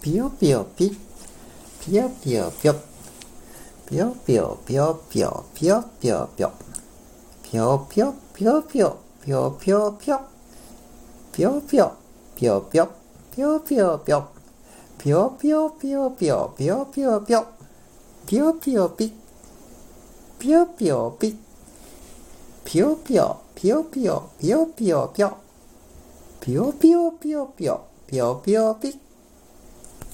ぴよぴよぴ、ぴよぴよぴょ、ぴよぴよぴよぴよ、ぴよぴよぴょ、ぴよぴよぴよぴよ、ぴよぴよぴょ、ぴよぴよぴよぴょ、ぴよぴよぴょ、ぴよぴよぴよぴよ、ぴよぴよぴょ、ぴよぴよぴ、ぴよぴよぴ、ぴよぴよぴよぴよ、ぴよぴよぴょ、ぴよぴよぴよぴよ、ぴよぴよぴ。